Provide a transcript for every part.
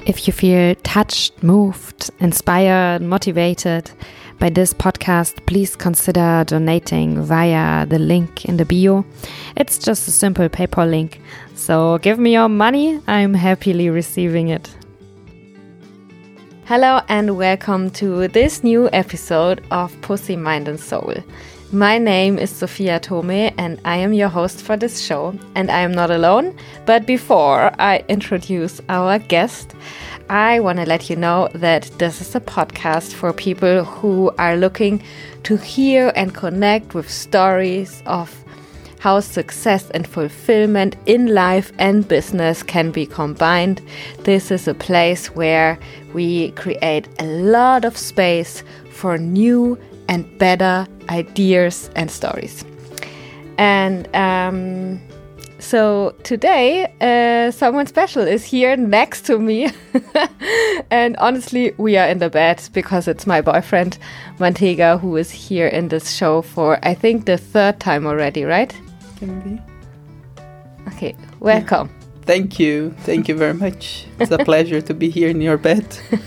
If you feel touched, moved, inspired, motivated by this podcast, please consider donating via the link in the bio. It's just a simple PayPal link. So give me your money. I'm happily receiving it. Hello and welcome to this new episode of Pussy, Mind and Soul. My name is Sophia Tome and I am your host for this show. And I am not alone, but before I introduce our guest, I want to let you know that this is a podcast for people who are looking to hear and connect with stories of how success and fulfillment in life and business can be combined. This is a place where we create a lot of space for new and better ideas and stories. And so today, someone special is here next to me. And honestly, we are in the bed because it's my boyfriend, Mantega, who is here in this show for, I think, the third time already, right? Can be. Okay, welcome. Yeah. Thank you. Thank you very much. It's a pleasure to be here in your bed.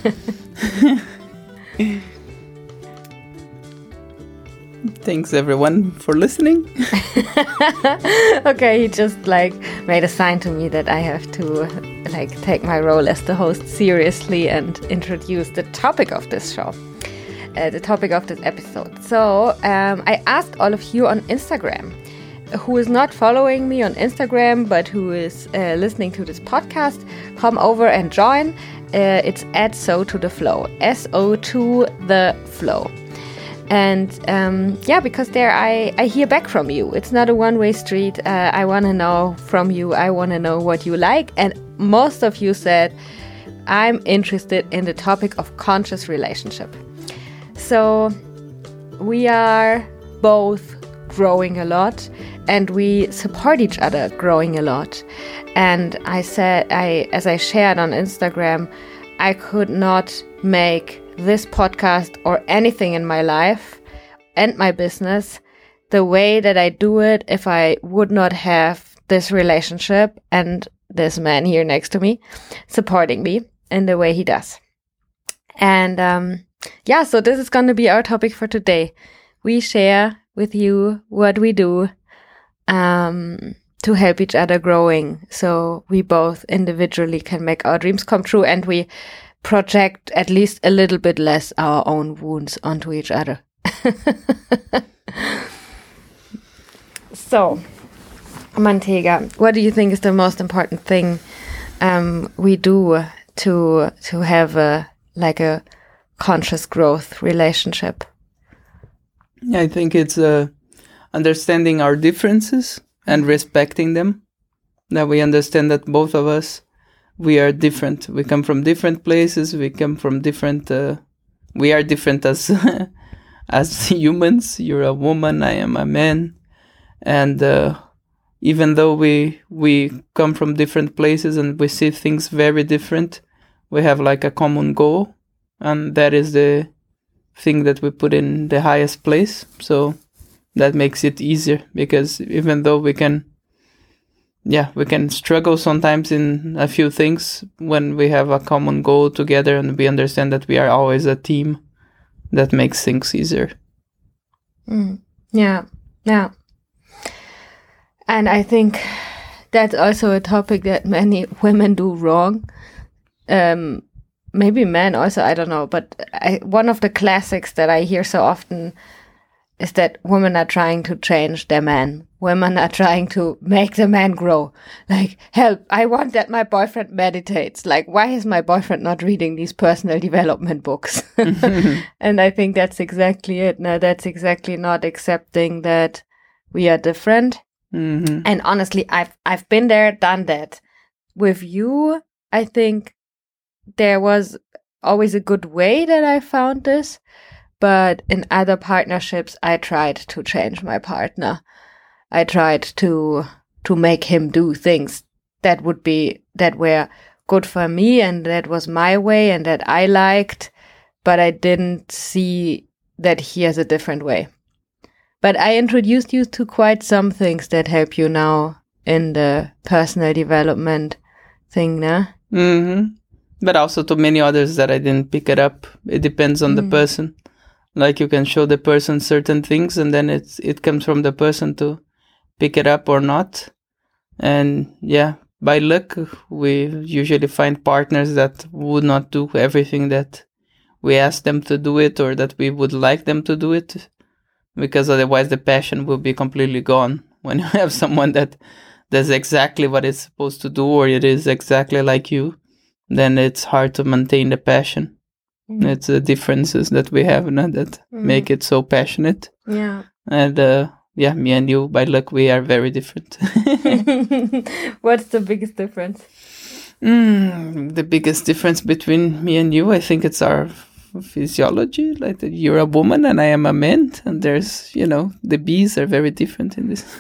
Thanks everyone for listening. Okay, he just made a sign to me that I have to take my role as the host seriously and introduce the topic of this show, the topic of this episode. So I asked all of you on Instagram, who is not following me on Instagram but who is listening to this podcast, come over and join. It's at So to the Flow, SO to the Flow. And because there I hear back from you. It's not a one-way street. I want to know from you. I want to know what you like. And most of you said, I'm interested in the topic of conscious relationship. So we are both growing a lot and we support each other growing a lot. And I said, as I shared on Instagram, I could not make this podcast or anything in my life and my business the way that I do it if I would not have this relationship and this man here next to me supporting me in the way he does. And so this is going to be our topic for today. We share with you what we do to help each other growing so we both individually can make our dreams come true and we project at least a little bit less our own wounds onto each other. So, Mantega, what do you think is the most important thing we do to have a conscious growth relationship? Yeah, I think it's understanding our differences and respecting them. That we understand that both of us, we are different. We come from different places. We come from different. We are different as as humans. You're a woman. I am a man. And even though we come from different places and we see things very different, we have a common goal, and that is the thing that we put in the highest place. So that makes it easier, because even though we can struggle sometimes in a few things, when we have a common goal together and we understand that we are always a team, that makes things easier. Yeah. And I think that's also a topic that many women do wrong. Maybe men also, I don't know. But one of the classics that I hear so often is that women are trying to change their man. Women are trying to make the man grow. Help, I want that my boyfriend meditates. Why is my boyfriend not reading these personal development books? And I think that's exactly it. No, that's exactly not accepting that we are different. Mm-hmm. And honestly, I've been there, done that. With you, I think there was always a good way that I found this. But in other partnerships, I tried to change my partner. I tried to make him do things that were good for me and that was my way and that I liked, but I didn't see that he has a different way. But I introduced you to quite some things that help you now in the personal development thing, nah? Mm-hmm. But also to many others that I didn't pick it up. It depends on the person. Like you can show the person certain things and then it comes from the person to pick it up or not. And yeah, by luck, we usually find partners that would not do everything that we ask them to do it or that we would like them to do it. Because otherwise the passion will be completely gone. When you have someone that does exactly what it's supposed to do or it is exactly like you, then it's hard to maintain the passion. It's the differences that we have that make it so passionate. Yeah. And me and you, by luck, we are very different. What's the biggest difference? The biggest difference between me and you, I think it's our physiology. Like that you're a woman and I am a man. And there's, the bees are very different in this.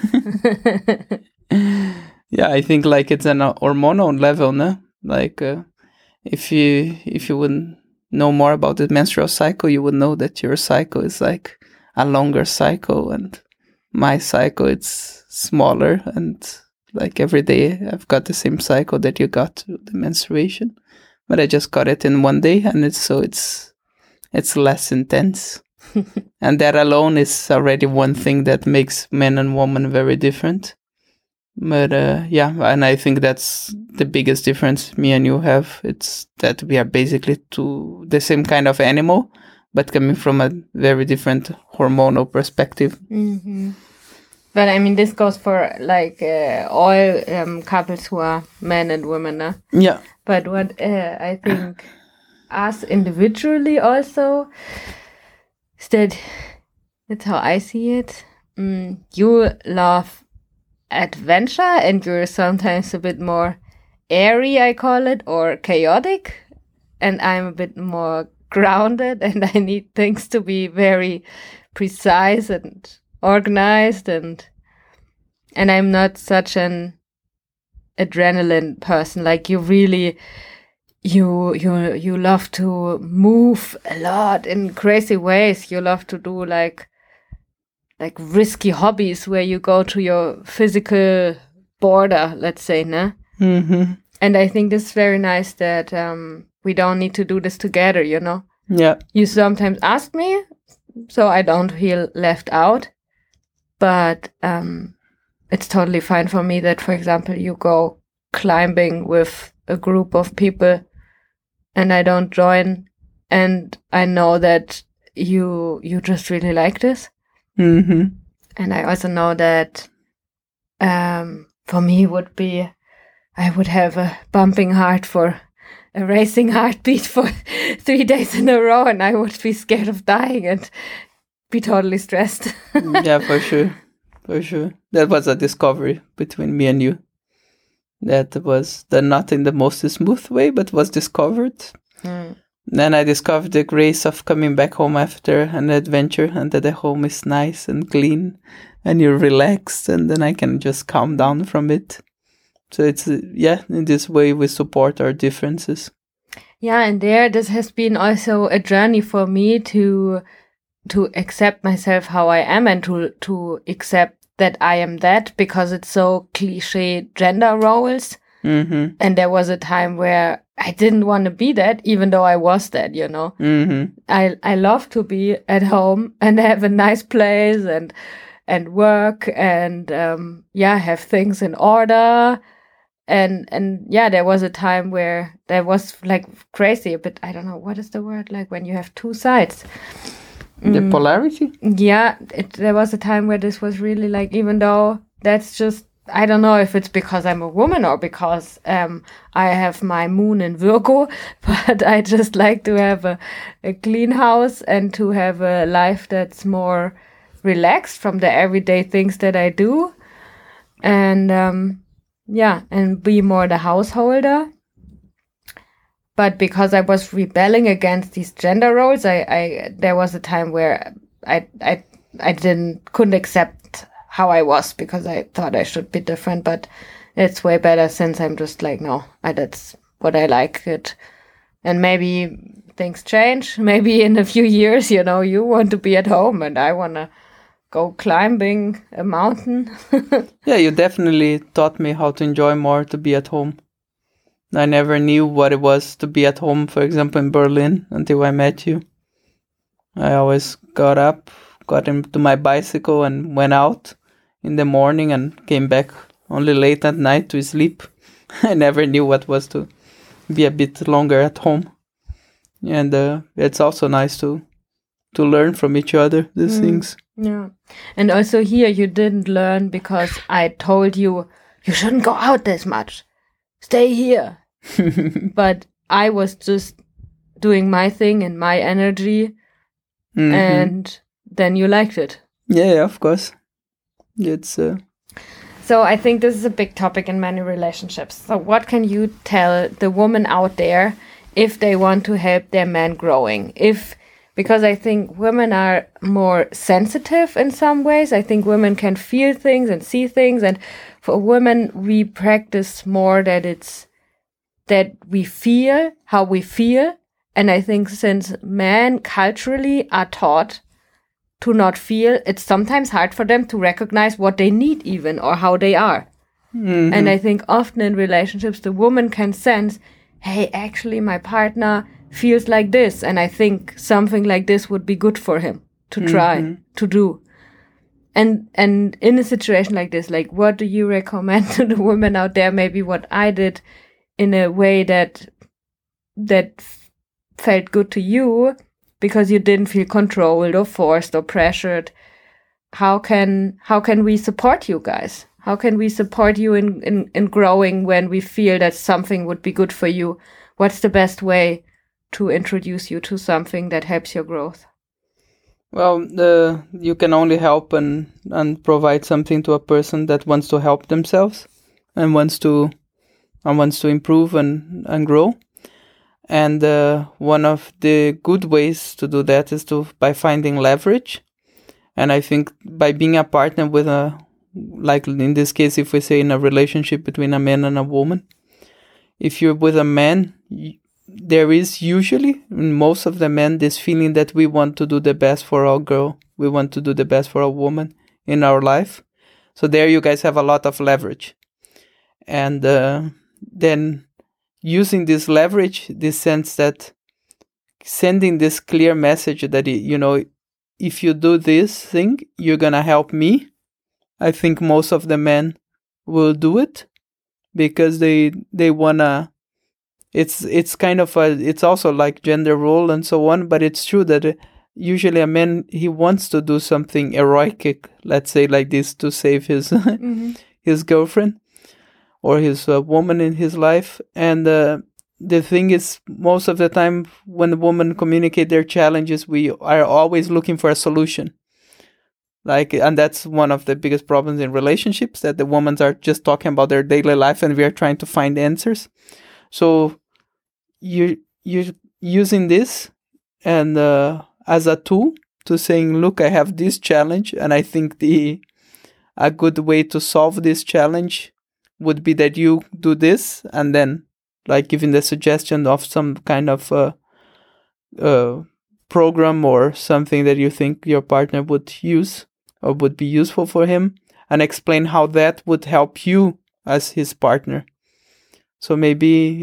Yeah, I think like it's an hormonal level, no? Like if you wouldn't know more about the menstrual cycle, you would know that your cycle is like a longer cycle and my cycle it's smaller, and like every day I've got the same cycle that you got, the menstruation, but I just got it in one day, and it's less intense. And that alone is already one thing that makes men and women very different. But and I think that's the biggest difference me and you have. It's that we are basically the same kind of animal, but coming from a very different hormonal perspective. Mm-hmm. But I mean, this goes for like all couples who are men and women. Yeah. But what I think us individually also is that's how I see it. You love adventure and you're sometimes a bit more airy, I call it, or chaotic, and I'm a bit more grounded and I need things to be very precise and organized, and I'm not such an adrenaline person. Like you really you love to move a lot in crazy ways. You love to do like risky hobbies where you go to your physical border, let's say, nah? Mm-hmm. And I think this is very nice that we don't need to do this together, Yeah. You sometimes ask me, so I don't feel left out. But it's totally fine for me that, for example, you go climbing with a group of people and I don't join. And I know that you just really like this. Mm-hmm. And I also know that for me I would have a bumping heart for a racing heartbeat for 3 days in a row, and I would be scared of dying and be totally stressed. Yeah, for sure. For sure. That was a discovery between me and you. That was not in the most smooth way, but was discovered. Then I discovered the grace of coming back home after an adventure, and that the home is nice and clean and you're relaxed, and then I can just calm down from it. So it's, in this way we support our differences. Yeah, and this has been also a journey for me to accept myself how I am, and to accept that I am that, because it's so cliche gender roles. Mm-hmm. And there was a time where I didn't want to be that, even though I was that, Mm-hmm. I love to be at home and have a nice place and work and have things in order. And there was a time where there was like crazy, but I don't know, what is the word, like when you have two sides? The polarity? Yeah, there was a time where this was really like, even though that's just, I don't know if it's because I'm a woman or because I have my moon in Virgo, but I just like to have a clean house and to have a life that's more relaxed from the everyday things that I do. And and be more the householder. But because I was rebelling against these gender roles, there was a time where I couldn't accept how I was, because I thought I should be different. But it's way better since I'm just like, no, that's what I like it. And maybe things change. Maybe in a few years, you want to be at home and I want to go climbing a mountain. Yeah, you definitely taught me how to enjoy more to be at home. I never knew what it was to be at home, for example, in Berlin until I met you. I always got up, got into my bicycle and went out in the morning and came back only late at night to sleep. I never knew what was to be a bit longer at home. And it's also nice to learn from each other, these things. Yeah. And also here you didn't learn because I told you, you shouldn't go out this much. Stay here. But I was just doing my thing in my energy. And then you liked it. Yeah, of course. It's So I think this is a big topic in many relationships. So what can you tell the woman out there if they want to help their man growing? Because I think women are more sensitive in some ways. I think women can feel things and see things. And for women, we practice more that we feel how we feel. And I think since men culturally are taught to not feel, it's sometimes hard for them to recognize what they need even or how they are. And I think often in relationships, the woman can sense, hey, actually my partner feels like this. And I think something like this would be good for him to try to do. And in a situation like this, like what do you recommend to the women out there? Maybe what I did in a way that felt good to you because you didn't feel controlled or forced or pressured. How can we support you guys? How can we support you in growing when we feel that something would be good for you? What's the best way to introduce you to something that helps your growth? Well, you can only help and provide something to a person that wants to help themselves and wants to improve and grow. And one of the good ways to do that is by finding leverage. And I think by being a partner with like in this case, if we say in a relationship between a man and a woman, if you're with a man, there is usually, in most of the men, this feeling that we want to do the best for our girl. We want to do the best for a woman in our life. So there you guys have a lot of leverage. And then using this leverage, this sense that sending this clear message that, if you do this thing, you're going to help me. I think most of the men will do it because they want to. It's kind of it's also like gender role and so on, but it's true that usually a man, he wants to do something heroic, let's say like this, to save his his girlfriend or his woman in his life. And the thing is, most of the time when women communicate their challenges, we are always looking for a solution. And that's one of the biggest problems in relationships, that the women are just talking about their daily life and we are trying to find answers. So you're using this and as a tool to saying, look, I have this challenge, and I think a good way to solve this challenge would be that you do this, and then like giving the suggestion of some kind of program or something that you think your partner would use or would be useful for him, and explain how that would help you as his partner. So maybe,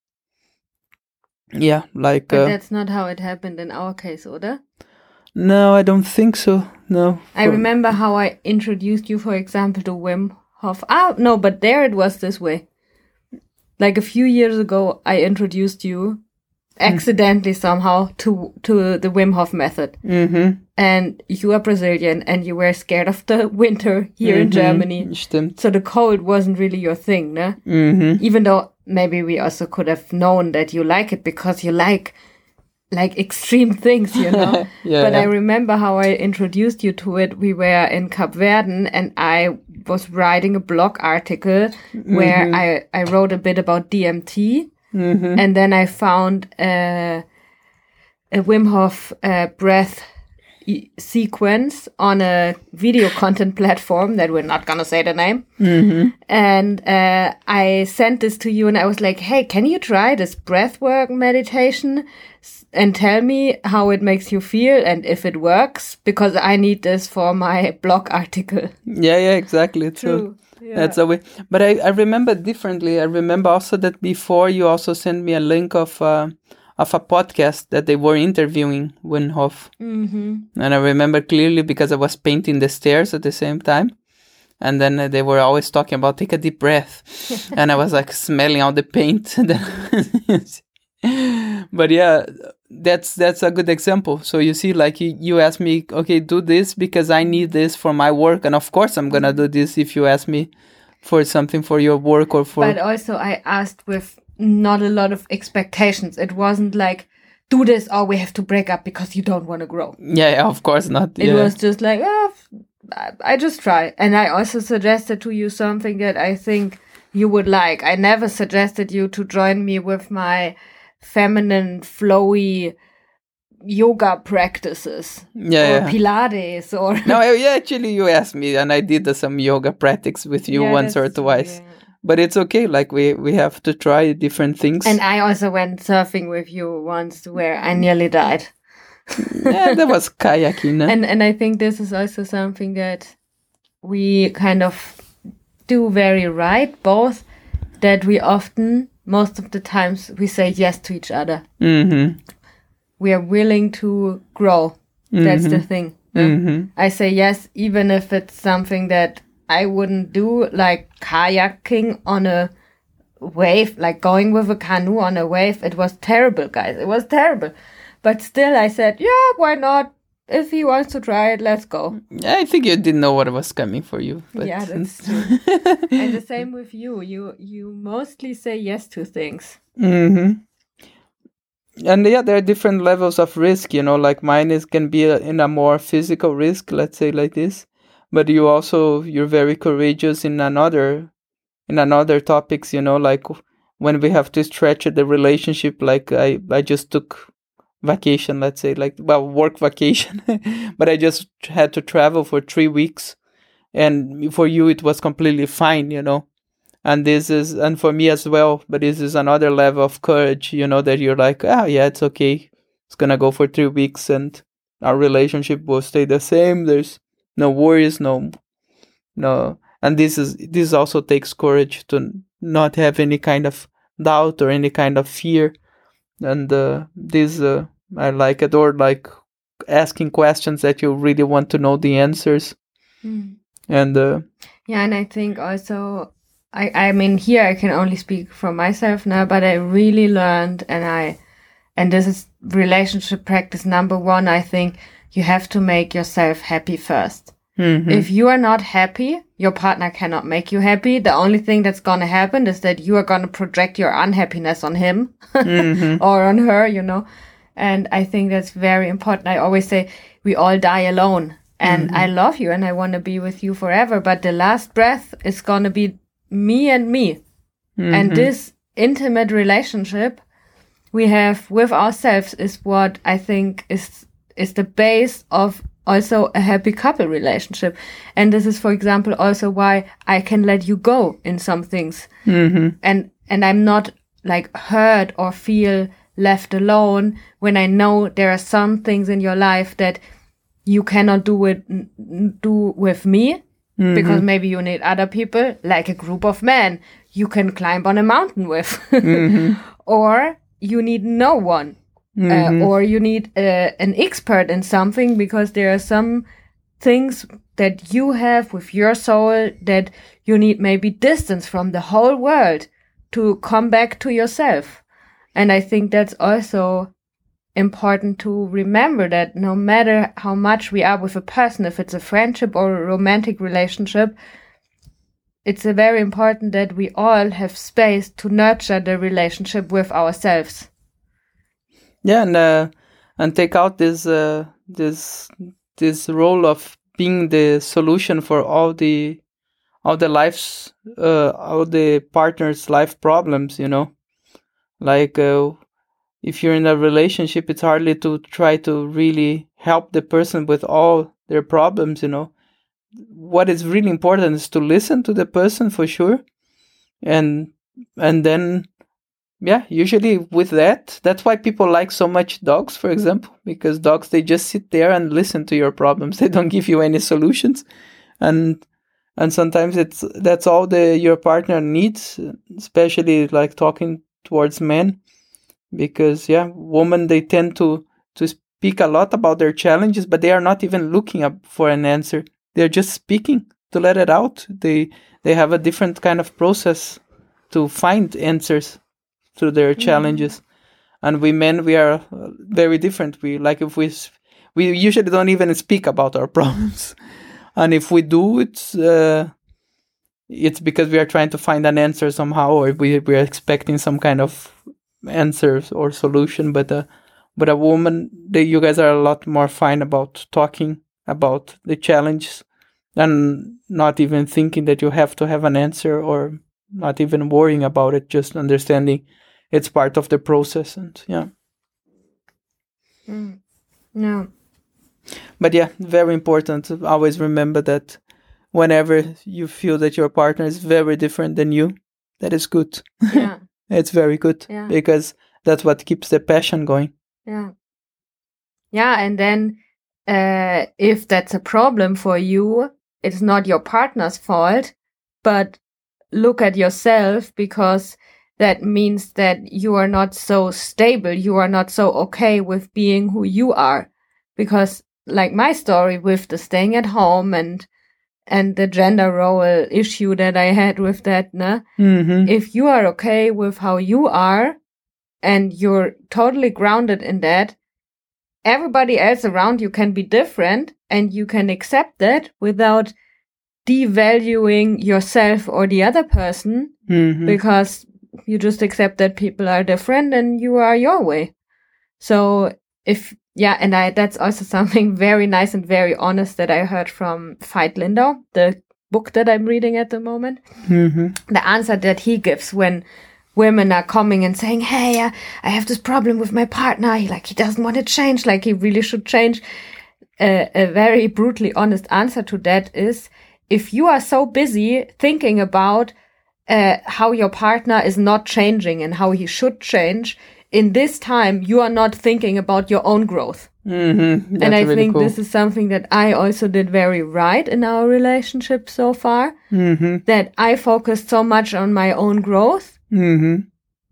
like... But that's not how it happened in our case, oder? No, I don't think so, no. I remember how I introduced you, for example, to Wim Hof. No, but there it was this way. Like a few years ago, I introduced you accidentally somehow to the Wim Hof method. Mm-hmm. And you are Brazilian and you were scared of the winter here in Germany. Stimmt. So the cold wasn't really your thing, ne? Mm-hmm. Even though maybe we also could have known that you like it because you like extreme things, But I remember how I introduced you to it. We were in Cap Verden and I was writing a blog article where I wrote a bit about DMT. Mm-hmm. And then I found a Wim Hof breath sequence on a video content platform that we're not gonna say the name. Mm-hmm. And I sent this to you and I was like, hey, can you try this breathwork meditation and tell me how it makes you feel and if it works, because I need this for my blog article. Yeah, exactly. True. That's a way. But I remember differently. I remember also that before you also sent me a link of a podcast that they were interviewing Wim Hof. And I remember clearly because I was painting the stairs at the same time. And then they were always talking about take a deep breath. And I was like smelling all the paint. But yeah, that's a good example. So you see, like you asked me, okay, do this because I need this for my work. And of course I'm going to do this if you ask me for something for your work or for... But also I asked with not a lot of expectations. It wasn't like, do this or we have to break up because you don't want to grow. Yeah, of course not. It was just like, I just try. And I also suggested to you something that I think you would like. I never suggested you to join me with my feminine, flowy yoga practices. Or Pilates or... No, actually you asked me and I did some yoga practice with you once or twice. Yeah. But it's okay, like we have to try different things. And I also went surfing with you once where I nearly died. Yeah, that was kayaking. No? And I think this is also something that we kind of do very right, both that we often, most of the times, we say yes to each other. We are willing to grow. That's the thing. I say yes, even if it's something that I wouldn't do, like kayaking on a wave, like going with a canoe on a wave. It was terrible, guys. It was terrible. But still, I said, yeah, why not? If he wants to try it, let's go. Yeah, I think you didn't know what was coming for you. But... Yeah, that's true. And the same with you. You mostly say yes to things. And yeah, there are different levels of risk, like mine can be in a more physical risk, let's say like this. But you're very courageous in another topics, like when we have to stretch the relationship, like I just took vacation, let's say, work vacation, but I just had to travel for 3 weeks, and for you it was completely fine, and for me as well, but this is another level of courage, that you're like, yeah, it's okay, it's gonna go for 3 weeks and our relationship will stay the same, there's no worries, no, and this also takes courage to not have any kind of doubt or any kind of fear. And I like it, or like asking questions that you really want to know the answers. And and I think also, I mean, here I can only speak for myself now, but I really learned, and this is relationship practice number 1, I think you have to make yourself happy first. If you are not happy, your partner cannot make you happy. The only thing that's going to happen is that you are going to project your unhappiness on him or on her, And I think that's very important. I always say we all die alone. And I love you and I want to be with you forever. But the last breath is going to be me and me. And this intimate relationship we have with ourselves is what I think is the base of also a happy couple relationship. And this is, for example, also why I can let you go in some things. And I'm not like hurt or feel left alone when I know there are some things in your life that you cannot do with me, because maybe you need other people, like a group of men you can climb on a mountain with, or you need no one. Or you need an expert in something, because there are some things that you have with your soul that you need maybe distance from the whole world to come back to yourself. And I think that's also important to remember, that no matter how much we are with a person, if it's a friendship or a romantic relationship, it's very important that we all have space to nurture the relationship with ourselves. Yeah, and take out this role of being the solution for all the life's all the partner's life problems. Like if you're in a relationship, it's hardly to try to really help the person with all their problems. What is really important is to listen to the person for sure, and then. Yeah, usually with that's why people like so much dogs, for example, because dogs, they just sit there and listen to your problems. They don't give you any solutions. And And sometimes that's all your partner needs, especially like talking towards men, because women, they tend to speak a lot about their challenges, but they are not even looking up for an answer. They're just speaking to let it out. They have a different kind of process to find answers to their challenges. And we men, we are very different. We like, if we usually don't even speak about our problems. And if we do, it's because we are trying to find an answer somehow, or we are expecting some kind of answer or solution. But a woman, you guys are a lot more fine about talking about the challenges and not even thinking that you have to have an answer, or not even worrying about it, just understanding it's part of the process. And No. But very important to always remember that whenever you feel that your partner is very different than you, that is good. Yeah. It's very good, because that's what keeps the passion going. Yeah. Yeah, and then if that's a problem for you, it's not your partner's fault, but look at yourself, because that means that you are not so stable. You are not so okay with being who you are. Because like my story with the staying at home and the gender role issue that I had with that, if you are okay with how you are and you're totally grounded in that, everybody else around you can be different, and you can accept that without devaluing yourself or the other person, because you just accept that people are different and you are your way. So that's also something very nice and very honest that I heard from Veit Lindau, the book that I'm reading at the moment. The answer that he gives when women are coming and saying, hey, I have this problem with my partner. He doesn't want to change, like he really should change. A very brutally honest answer to that is, if you are so busy thinking about how your partner is not changing and how he should change, in this time, you are not thinking about your own growth. And I really think cool. This is something that I also did very right in our relationship so far, that I focused so much on my own growth. And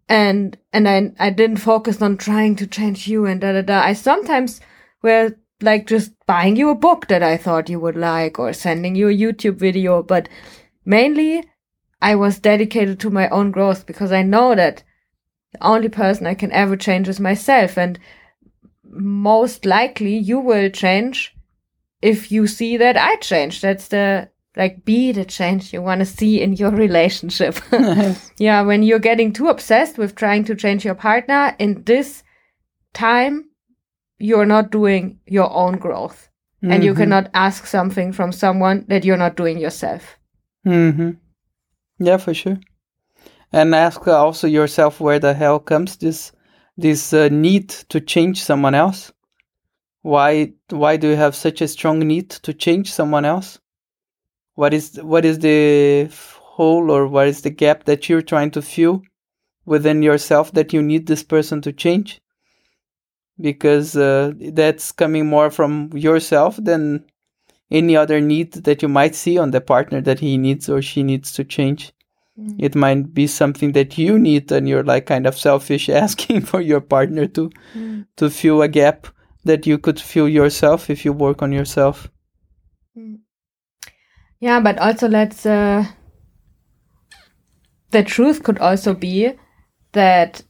I didn't focus on trying to change you and da-da-da. I sometimes were like just buying you a book that I thought you would like, or sending you a YouTube video. But mainly I was dedicated to my own growth, because I know that the only person I can ever change is myself. And most likely you will change if you see that I change. That's be the change you want to see in your relationship. When you're getting too obsessed with trying to change your partner, in this time, you're not doing your own growth. And you cannot ask something from someone that you're not doing yourself. Yeah, for sure. And ask also yourself, where the hell comes this need to change someone else? Why do you have such a strong need to change someone else? What is the hole, or what is the gap that you're trying to fill within yourself that you need this person to change? Because that's coming more from yourself than any other need that you might see on the partner that he needs or she needs to change. It might be something that you need, and you're like kind of selfish asking for your partner to fill a gap that you could fill yourself if you work on yourself. Yeah, but also the truth could also be that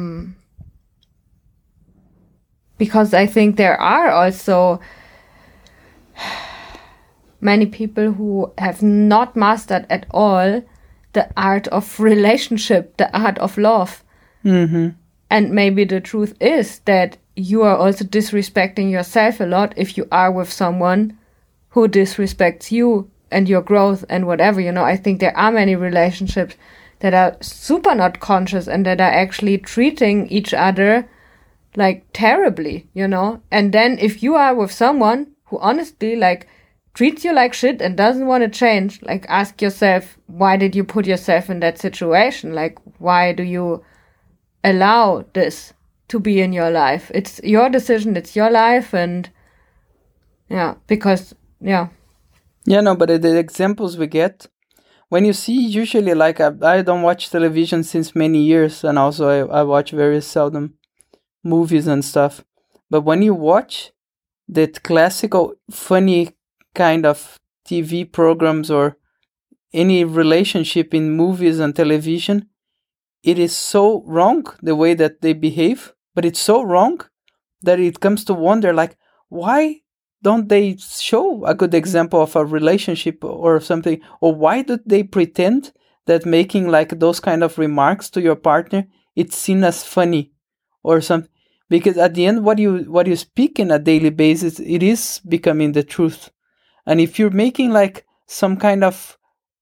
because I think there are also many people who have not mastered at all the art of relationship, the art of love. And maybe the truth is that you are also disrespecting yourself a lot if you are with someone who disrespects you and your growth and whatever. I think there are many relationships that are super not conscious and that are actually treating each other like terribly, And then if you are with someone who honestly treats you like shit and doesn't want to change, ask yourself, why did you put yourself in that situation? Why do you allow this to be in your life? It's your decision, it's your life, and because. Yeah, Yeah, no, but the examples we get, when you see, usually, like, I don't watch television since many years, and also I watch very seldom movies and stuff. But when you watch that classical, funny kind of TV programs or any relationship in movies and television, it is so wrong the way that they behave, but it's so wrong that it comes to wonder, like, why don't they show a good example of a relationship or something? Or why do they pretend that making like those kind of remarks to your partner, it's seen as funny or something? Because at the end, what you speak in a daily basis, it is becoming the truth. And if you're making like some kind of,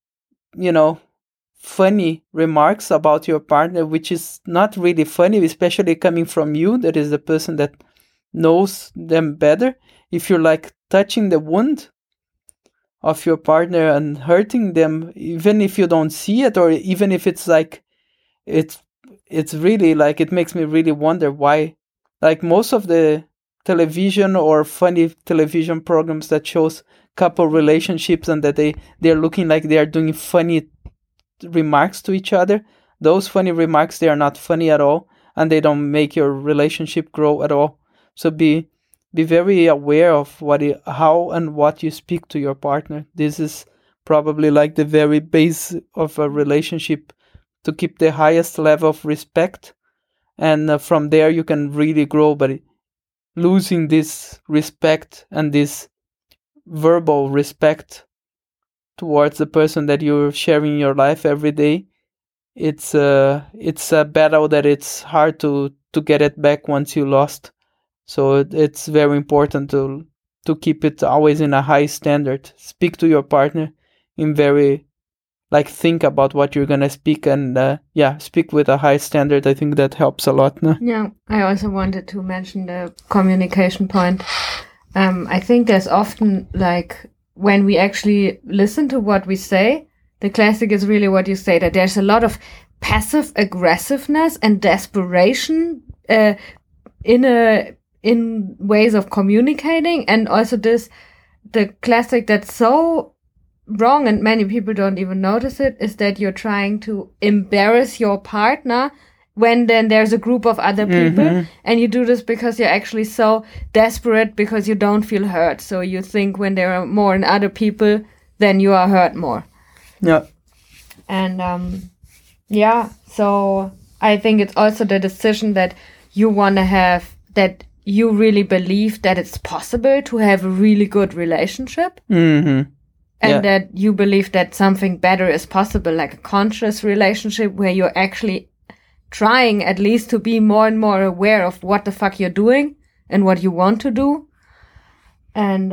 funny remarks about your partner, which is not really funny, especially coming from you, that is the person that knows them better. If you're like touching the wound of your partner and hurting them, even if you don't see it, or even if it's like it's really like, it makes me really wonder why, like, most of the television or funny television programs that shows couple relationships and that they're looking like they are doing funny remarks to each other, those funny remarks, they are not funny at all, and they don't make your relationship grow at all. So be very aware of how and what you speak to your partner. This is probably like the very base of a relationship, to keep the highest level of respect, and from there you can really grow. But losing this respect and this verbal respect towards the person that you're sharing your life every day, it's a battle that it's hard to get it back once you lost. So it's very important to keep it always in a high standard. Speak to your partner in very, like, think about what you're gonna speak, and speak with a high standard. I think that helps a lot. No? Yeah, I also wanted to mention the communication point. I think there's often, like, when we actually listen to what we say, the classic is really what you say, that there's a lot of passive aggressiveness and desperation in ways of communicating, and also the classic that's so wrong and many people don't even notice it, is that you're trying to embarrass your partner when then there's a group of other people, and you do this because you're actually so desperate because you don't feel hurt. So you think when there are more than other people, then you are hurt more. Yeah. And so I think it's also the decision that you want to have, that you really believe that it's possible to have a really good relationship. Mm-hmm. And that you believe that something better is possible, like a conscious relationship where you're actually trying at least to be more and more aware of what the fuck you're doing and what you want to do. And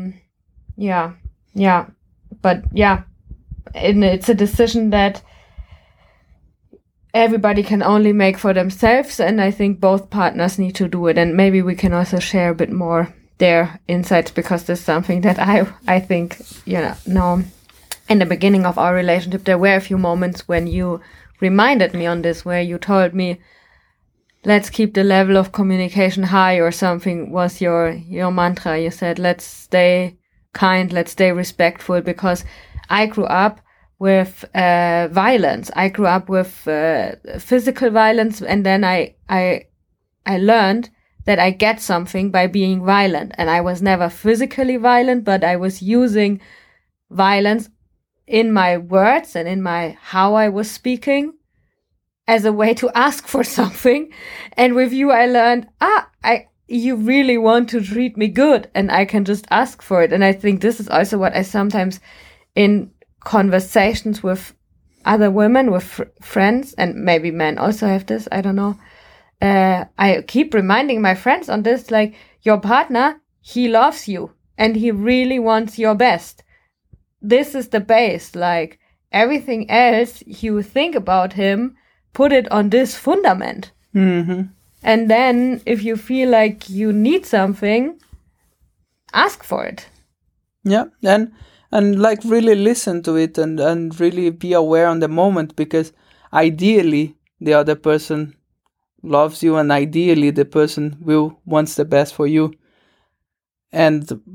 and it's a decision that everybody can only make for themselves, and I think both partners need to do it. And maybe we can also share a bit more their insights, because this is something that I think, no, in the beginning of our relationship, there were a few moments when you reminded me on this, where you told me, let's keep the level of communication high, or something was your mantra. You said, let's stay kind, let's stay respectful, because I grew up with violence. I grew up with physical violence, and then I learned that I get something by being violent. And I was never physically violent, but I was using violence in my words and in how I was speaking as a way to ask for something. And with you, I learned, you really want to treat me good, and I can just ask for it. And I think this is also what I sometimes, in conversations with other women, with friends, and maybe men also have this, I don't know. I keep reminding my friends on this, like, your partner, he loves you and he really wants your best. This is the base. Like, everything else you think about him, put it on this fundament. Mm-hmm. And then if you feel like you need something, ask for it. Yeah. And like, really listen to it, and really be aware on the moment, because ideally the other person loves you, and ideally the person wants the best for you. And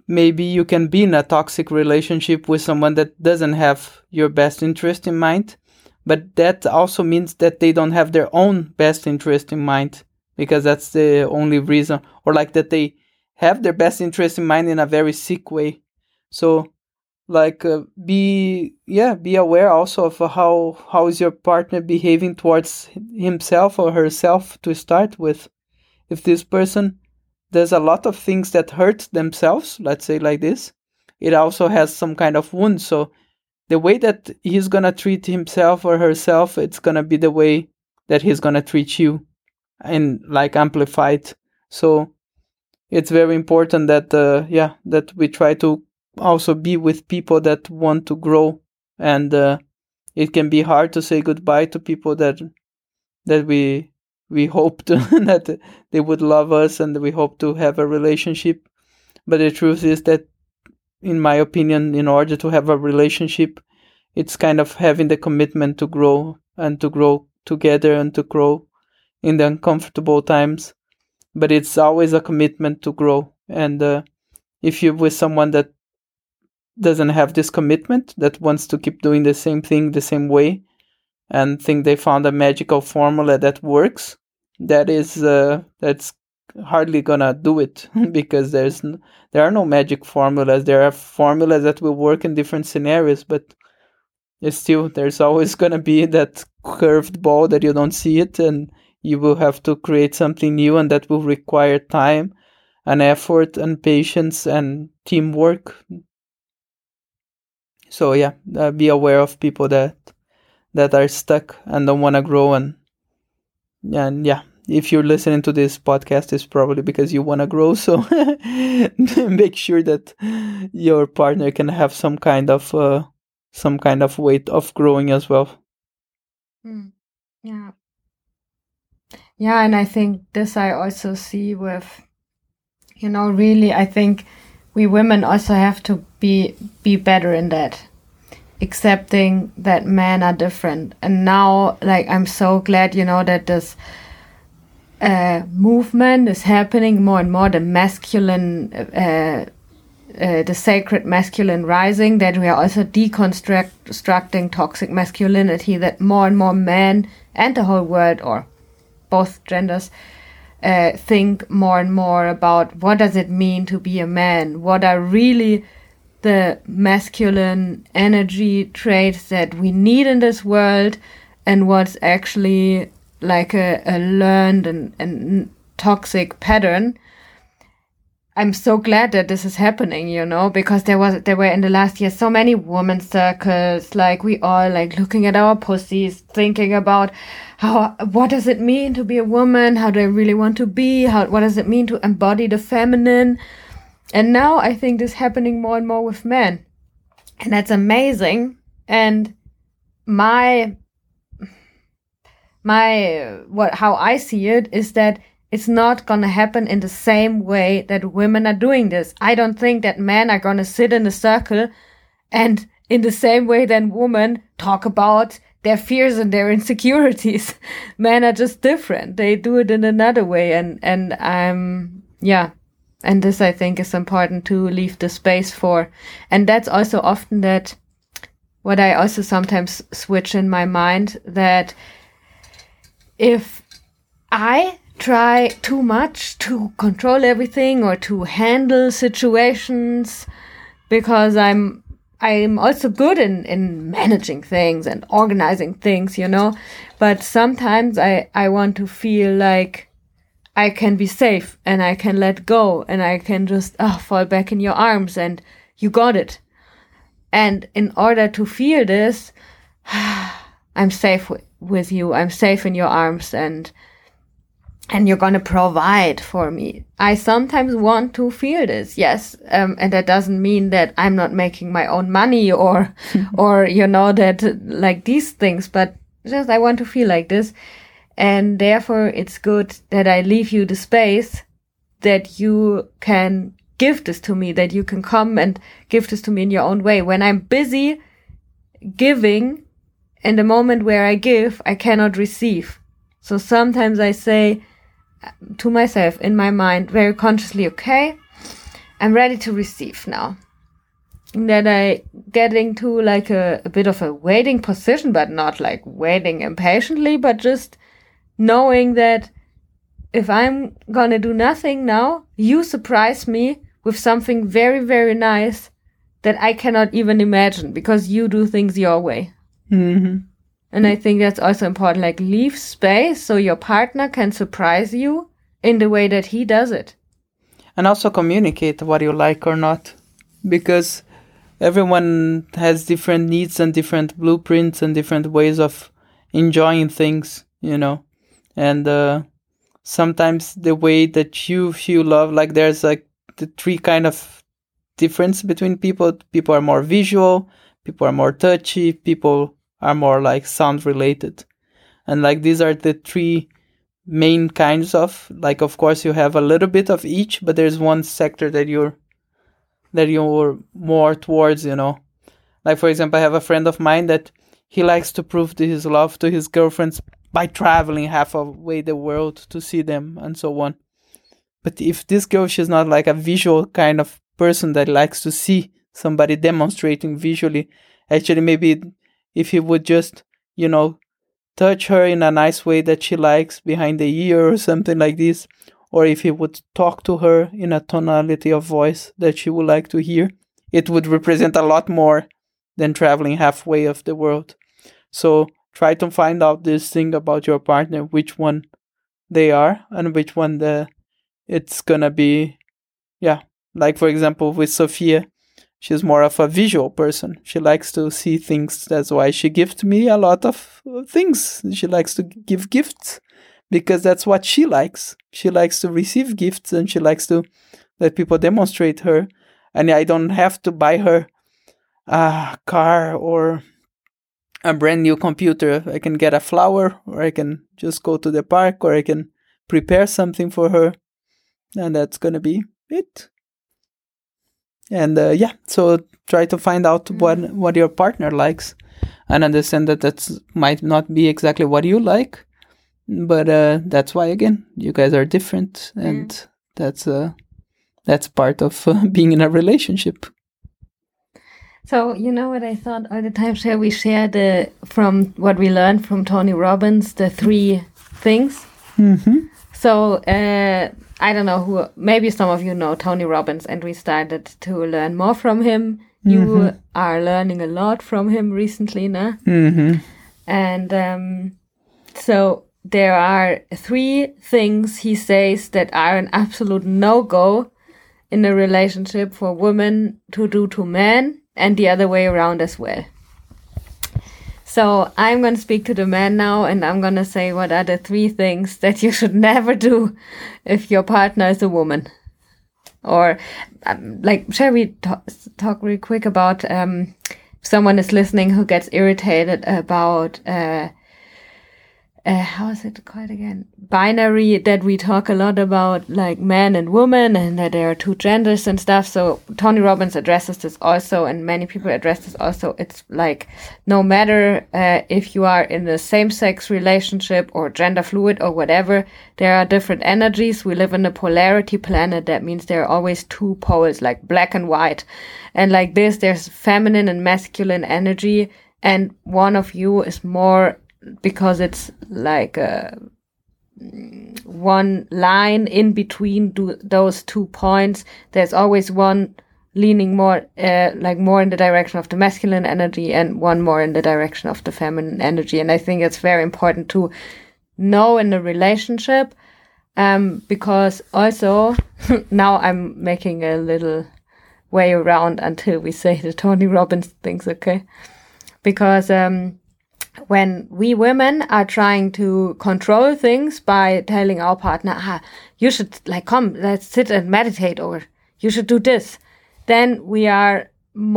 maybe you can be in a toxic relationship with someone that doesn't have your best interest in mind, but that also means that they don't have their own best interest in mind, because that's the only reason, or like that they have their best interest in mind in a very sick way. So like be aware also of how is your partner behaving towards himself or herself to start with. If this person does a lot of things that hurt themselves, let's say like this, it also has some kind of wound. So the way that he's gonna treat himself or herself, it's gonna be the way that he's gonna treat you, and like amplified. So it's very important that that we try to also be with people that want to grow, and it can be hard to say goodbye to people that we hoped that they would love us and we hope to have a relationship. But the truth is that, in my opinion, in order to have a relationship, it's kind of having the commitment to grow, and to grow together, and to grow in the uncomfortable times. But it's always a commitment to grow. And if you're with someone that doesn't have this commitment, that wants to keep doing the same thing the same way, and think they found a magical formula that works, that's hardly gonna do it, because there are no magic formulas. There are formulas that will work in different scenarios, but there's always gonna be that curved ball that you don't see it, and you will have to create something new, and that will require time and effort and patience and teamwork. So be aware of people that are stuck and don't want to grow, and if you're listening to this podcast, it's probably because you want to grow. So make sure that your partner can have some kind of weight of growing as well. Yeah, and I think this I also see with, really, I think we women also have to be better in that, accepting that men are different. And now, like, I'm so glad, that this movement is happening more and more, the masculine, the sacred masculine rising, that we are also deconstructing toxic masculinity, that more and more men and the whole world, or both genders, think more and more about what does it mean to be a man, what are really the masculine energy traits that we need in this world, and what's actually like a learned and toxic pattern. I'm so glad that this is happening, because there were in the last year so many women's circles, like we all like looking at our pussies, thinking about what does it mean to be a woman? How do I really want to be? What does it mean to embody the feminine? And now I think this is happening more and more with men. And that's amazing. And how I see it is that it's not going to happen in the same way that women are doing this. I don't think that men are going to sit in a circle and in the same way that women talk about their fears and their insecurities. Men are just different. They do it in another way. And this, I think, is important to leave the space for. And that's also often that what I also sometimes switch in my mind, that if I try too much to control everything or to handle situations, because I'm also good in managing things and organizing things, but sometimes I want to feel like I can be safe and I can let go and I can just fall back in your arms and you got it. And in order to feel this, I'm safe with you. I'm safe in your arms, and you're going to provide for me. I sometimes want to feel this, yes. And that doesn't mean that I'm not making my own money or that like these things, but just I want to feel like this. And therefore it's good that I leave you the space that you can give this to me, that you can come and give this to me in your own way. When I'm busy giving, in the moment where I give, I cannot receive. So sometimes I say to myself in my mind very consciously, okay, I'm ready to receive now. And then I get into like a bit of a waiting position, but not like waiting impatiently, but just knowing that if I'm gonna do nothing now, you surprise me with something very, very nice that I cannot even imagine because you do things your way. Mm-hmm. And I think that's also important, like leave space so your partner can surprise you in the way that he does it. And also communicate what you like or not, because everyone has different needs and different blueprints and different ways of enjoying things, and sometimes the way that you feel love, like there's like the three kind of difference between people. People are more visual, people are more touchy, people are more like sound related. And like these are the three main kinds of, like, of course you have a little bit of each, but there's one sector that you're more towards, Like, for example, I have a friend of mine that he likes to prove his love to his girlfriends by traveling halfway the world to see them and so on. But if this girl, she's not like a visual kind of person that likes to see somebody demonstrating visually, actually maybe if he would just, touch her in a nice way that she likes behind the ear or something like this, or if he would talk to her in a tonality of voice that she would like to hear, it would represent a lot more than traveling halfway of the world. So try to find out this thing about your partner, which one they are and which one it's gonna be. Yeah, like for example with Sophia, she's more of a visual person. She likes to see things. That's why she gives me a lot of things. She likes to give gifts because that's what she likes. She likes to receive gifts and she likes to let people demonstrate her. And I don't have to buy her a car or a brand new computer. I can get a flower, or I can just go to the park, or I can prepare something for her. And that's going to be it. And so try to find out what your partner likes and understand that might not be exactly what you like, but that's why, again, you guys are different, and that's part of being in a relationship. So, you know what I thought all the time, shall we share from what we learned from Tony Robbins, the 3 things? Mm-hmm. So, I don't know maybe some of you know Tony Robbins, and we started to learn more from him. You are learning a lot from him recently, no? Mm-hmm. And so there are 3 things he says that are an absolute no-go in a relationship for women to do to men, and the other way around as well. So I'm going to speak to the man now, and I'm going to say what are the 3 things that you should never do if your partner is a woman. Or, shall we talk real quick about if someone is listening who gets irritated about, how is it called again? Binary, that we talk a lot about, like man and woman, and that there are 2 genders and stuff. So Tony Robbins addresses this also, and many people address this also. It's like, no matter if you are in a same-sex relationship or gender fluid or whatever, there are different energies. We live in a polarity planet. That means there are always 2 poles, like black and white. And like this, there's feminine and masculine energy, and one of you is more, because it's like one line in between those 2 points. There's always one leaning more, more in the direction of the masculine energy, and one more in the direction of the feminine energy. And I think it's very important to know in a relationship, because also now I'm making a little way around until we say the Tony Robbins things, okay? Because when we women are trying to control things by telling our partner, you should come, let's sit and meditate, or you should do this, then we are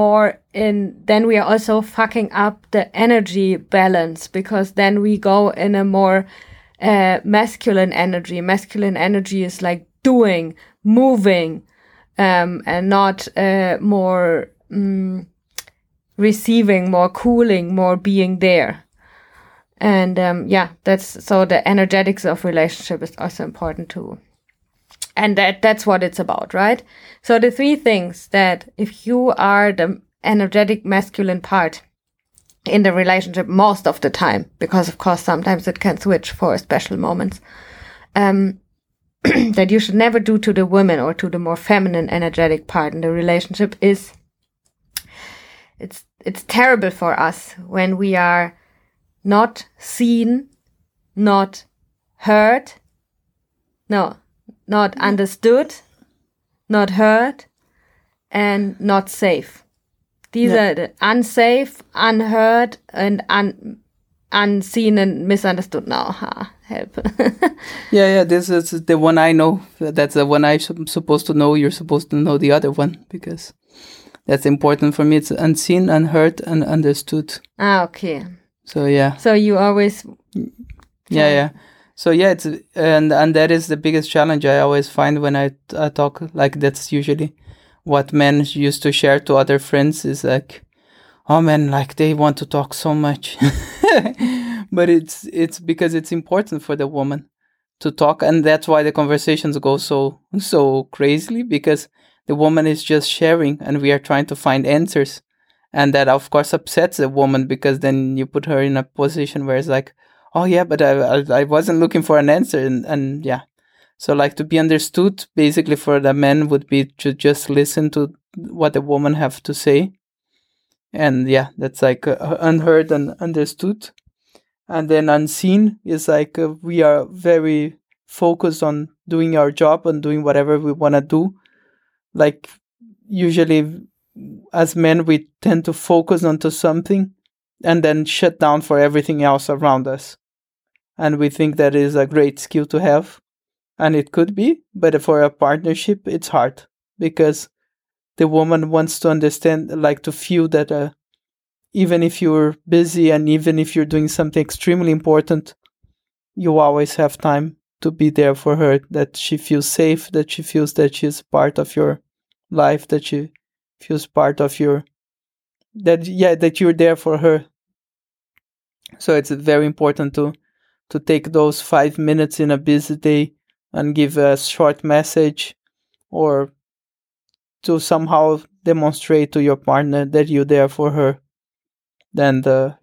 also fucking up the energy balance, because then we go in a more masculine energy. Masculine energy is like doing, moving, and not more receiving, more cooling, more being there. And that's so the energetics of relationship is also important to And that's what it's about, right? So the three things that if you are the energetic masculine part in the relationship most of the time, because of course sometimes it can switch for special moments, that you should never do to the women or to the more feminine energetic part in the relationship is it's terrible for us when we are not seen, not heard, not understood, not heard, and not safe. These are the unsafe, unheard, and unseen and misunderstood. Now, help. Yeah. This is the one I know. That's the one I'm supposed to know. You're supposed to know the other one because that's important for me. It's unseen, unheard, and understood. Okay. So yeah. So you always. Yeah. So yeah, it's and that is the biggest challenge I always find when I talk. Like that's usually what men used to share to other friends is like, oh man, like they want to talk so much. But it's because it's important for the woman to talk, and that's why the conversations go so crazily, because the woman is just sharing and we are trying to find answers. And that of course upsets the woman, because then you put her in a position where it's like, oh yeah, but I wasn't looking for an answer, and yeah. So like to be understood basically for the men would be to just listen to what the woman have to say. And yeah, that's like unheard and understood. And then unseen is like we are very focused on doing our job and doing whatever we want to do. Like usually as men, we tend to focus onto something and then shut down for everything else around us. And we think that is a great skill to have. And it could be, but for a partnership, it's hard because the woman wants to understand, like to feel that even if you're busy and even if you're doing something extremely important, you always have time to be there for her, that she feels safe, that she feels that she's part of your life, that she feels part of that you're there for her. So it's very important to take those 5 minutes in a busy day and give a short message, or to somehow demonstrate to your partner that you're there for her. Then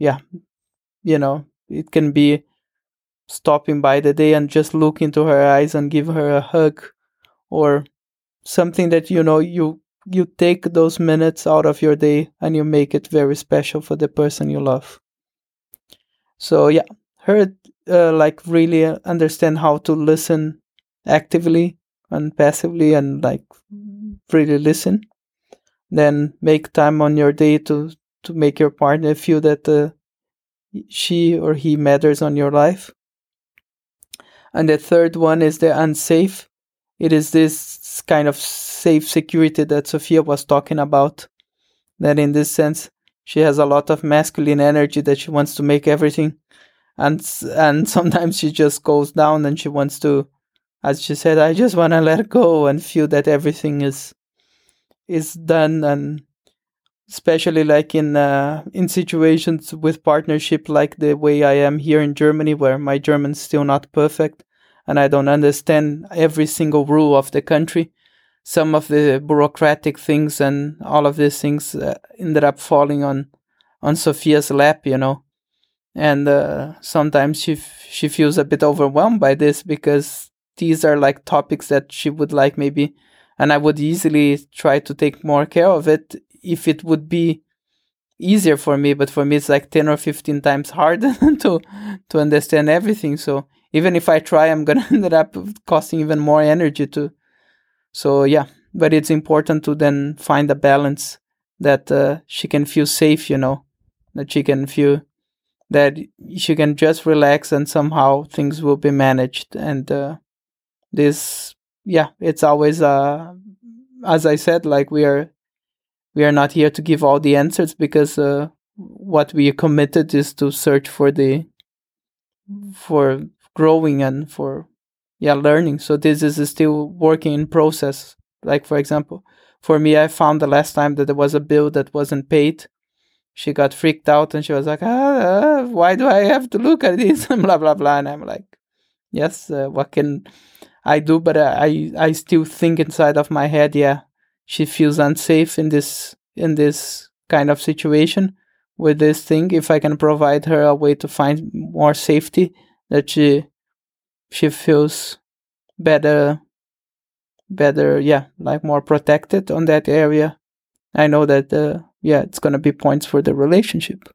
it can be stopping by the day and just look into her eyes and give her a hug, or something that you take those minutes out of your day and you make it very special for the person you love. So yeah, her like really understand how to listen actively and passively, and like really listen. Then make time on your day to make your partner feel that she or he matters on your life. And the third one is the unsafe. It is this kind of safe security that Sophia was talking about, that in this sense she has a lot of masculine energy that she wants to make everything, and sometimes she just goes down and she wants to, as she said, I just want to let go and feel that everything is done. And especially like in situations with partnership, like the way I am here in Germany, where my German's still not perfect and I don't understand every single rule of the country. Some of the bureaucratic things and all of these things ended up falling on Sophia's lap, and sometimes she feels a bit overwhelmed by this, because these are like topics that she would like maybe, and I would easily try to take more care of it if it would be easier for me. But for me, it's like 10 or 15 times harder to understand everything. So even if I try, I'm going to end up costing even more energy to. So yeah, but it's important to then find a balance that she can feel safe, that she can feel that she can just relax and somehow things will be managed. And it's always, as I said, like we are not here to give all the answers, because what we are committed is to search for growing and for learning. So this is still working in process. Like, for example, for me, I found the last time that there was a bill that wasn't paid. She got freaked out and she was like, why do I have to look at this? And blah, blah, blah. And I'm like, yes, I do, but I still think inside of my head, yeah, she feels unsafe in this kind of situation with this thing. If I can provide her a way to find more safety, that she feels better, yeah, like more protected on that area, I know that it's gonna be points for the relationship.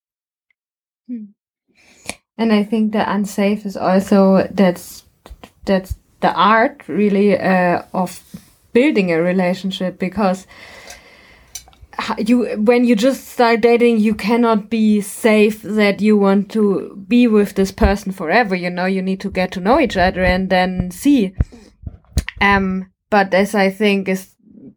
And I think the unsafe is also that's the art really of building a relationship, because when you just start dating, you cannot be safe that you want to be with this person forever. You need to get to know each other and then see. But as I think is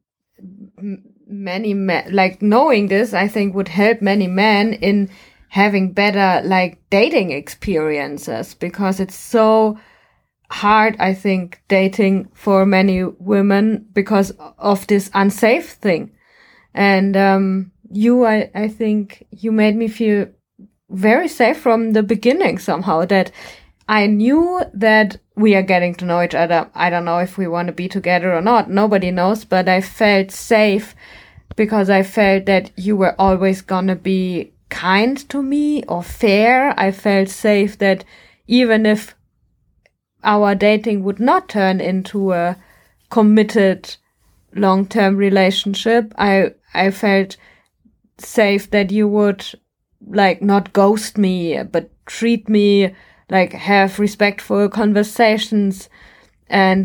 many men, like knowing this, I think would help many men in having better like dating experiences, because it's so hard, I think, dating for many women because of this unsafe thing. And I think you made me feel very safe from the beginning somehow, that I knew that we are getting to know each other. I don't know if we want to be together or not. Nobody knows, but I felt safe because I felt that you were always gonna be kind to me or fair. I felt safe that even if our dating would not turn into a committed long-term relationship, I felt safe that you would like not ghost me, but treat me like, have respectful conversations. And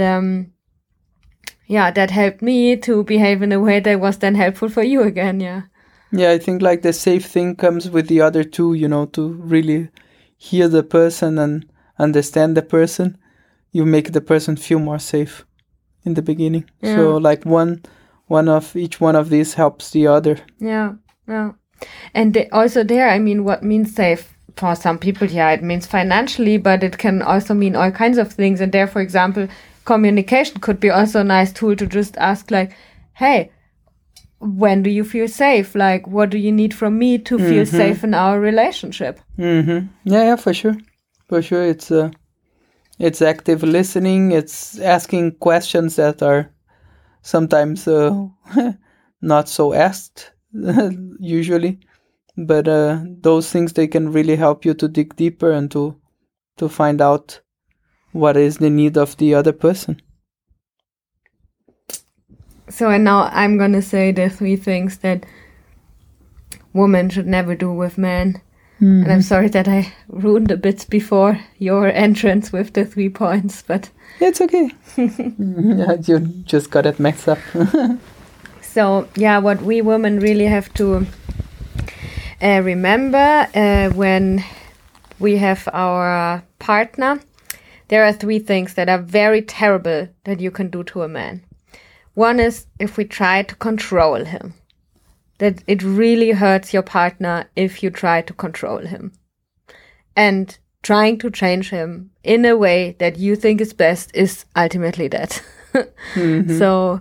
that helped me to behave in a way that was then helpful for you again. Yeah, I think like the safe thing comes with the other two, to really hear the person and understand the person. You make the person feel more safe in the beginning. Yeah. So like each one of these helps the other. Yeah. And also there, I mean, what means safe? For some people, it means financially, but it can also mean all kinds of things. And there, for example, communication could be also a nice tool to just ask like, hey, when do you feel safe? Like, what do you need from me to feel safe in our relationship? Mm-hmm. Yeah, for sure. For sure. It's active listening. It's asking questions that are sometimes not so asked usually. But those things, they can really help you to dig deeper and to find out what is the need of the other person. So, and now I'm going to say the 3 things that women should never do with men. And I'm sorry that I ruined a bit before your entrance with the 3 points, but... It's okay. You just got it mixed up. So, what we women really have to... remember, when we have our partner, there are 3 things that are very terrible that you can do to a man. One is if we try to control him. That it really hurts your partner if you try to control him. And trying to change him in a way that you think is best is ultimately that. So,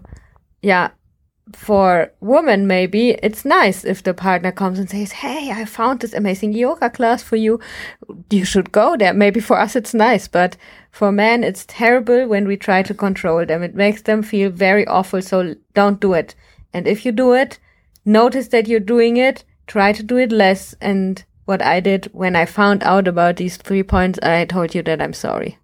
for women, maybe it's nice if the partner comes and says, hey, I found this amazing yoga class for you. You should go there. Maybe for us it's nice, but for men it's terrible when we try to control them. It makes them feel very awful, so don't do it. And if you do it, notice that you're doing it, try to do it less. And what I did when I found out about these 3 points, I told you that I'm sorry.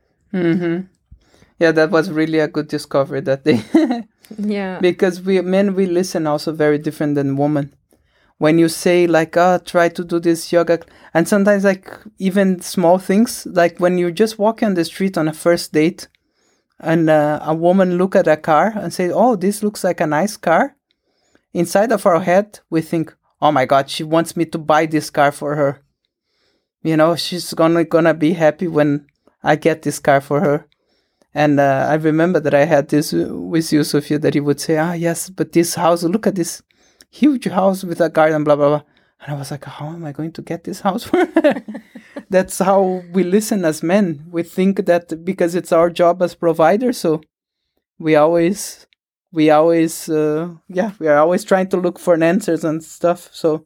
Yeah, that was really a good discovery that day. Yeah. Because we listen also very different than women. When you say like, try to do this yoga, and sometimes like even small things, like when you're just walking on the street on a first date and a woman look at a car and say, oh, this looks like a nice car. Inside of our head, we think, oh my God, she wants me to buy this car for her. She's gonna be happy when I get this car for her. And I remember that I had this with you, Sophia, that he would say, yes, but this house, look at this huge house with a garden, blah, blah, blah. And I was like, how am I going to get this house for her? That's how we listen as men. We think that because it's our job as providers, so we are always trying to look for answers and stuff. So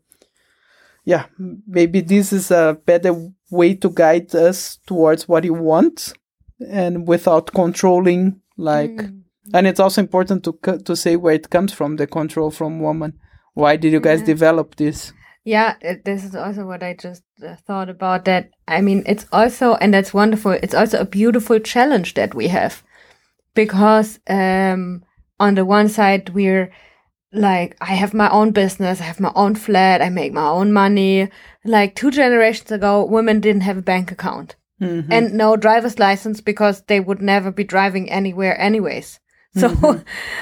maybe this is a better way to guide us towards what you want and without controlling, like. And it's also important to say where it comes from, the control from woman. Why did you guys develop this? Yeah, this is also what I just thought about. That, I mean, it's also, and that's wonderful, it's also a beautiful challenge that we have. Because on the one side, we're like, I have my own business, I have my own flat, I make my own money. Like 2 generations ago, women didn't have a bank account. And no driver's license because they would never be driving anywhere anyways. So,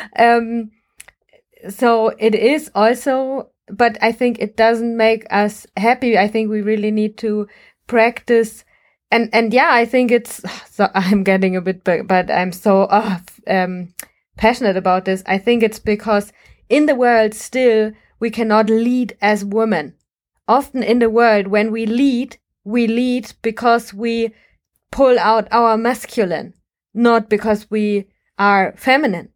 so it is also, but I think it doesn't make us happy. I think we really need to practice. And yeah, I think it's, so I'm getting a bit, but I'm so passionate about this. I think it's because in the world still, we cannot lead as women. Often in the world, when we lead because we pull out our masculine, not because we are feminine.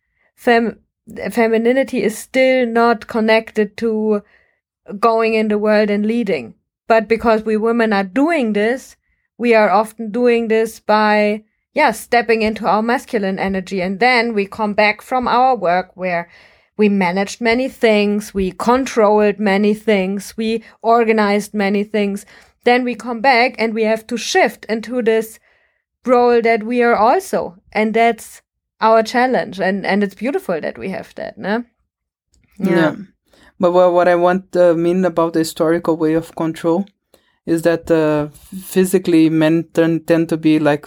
Femininity is still not connected to going in the world and leading. But because we women are doing this, we are often doing this by, stepping into our masculine energy. And then we come back from our work where we managed many things, we controlled many things, we organized many things. Then we come back and we have to shift into this role that we are also. And that's our challenge. And it's beautiful that we have that, no? Yeah. But what I mean about the historical way of control is that physically men tend to be like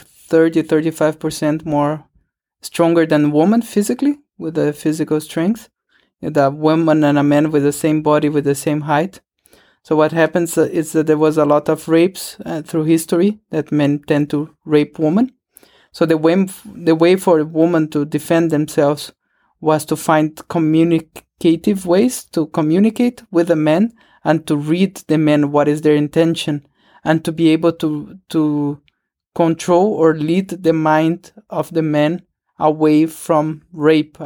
35% more stronger than women physically, with the physical strength. The woman and a man with the same body, with the same height. So what happens is that there was a lot of rapes through history, that men tend to rape women. So the way for a woman to defend themselves was to find communicative ways to communicate with the men and to read the men, what is their intention, and to be able to control or lead the mind of the men away from rape,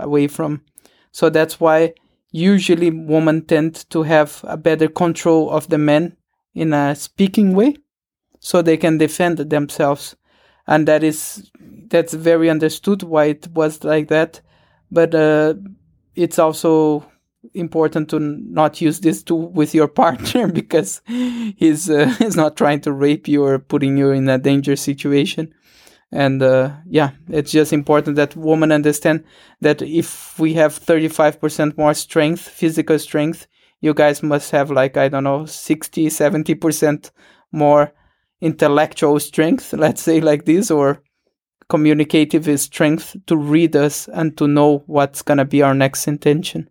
So that's why usually women tend to have a better control of the men in a speaking way, so they can defend themselves. And that's very understood why it was like that. But it's also important to not use this tool with your partner, because he's not trying to rape you or putting you in a dangerous situation. And it's just important that women understand that if we have 35% more strength, physical strength, you guys must have 60, 70% more intellectual strength, let's say like this, or communicative strength to read us and to know what's going to be our next intention.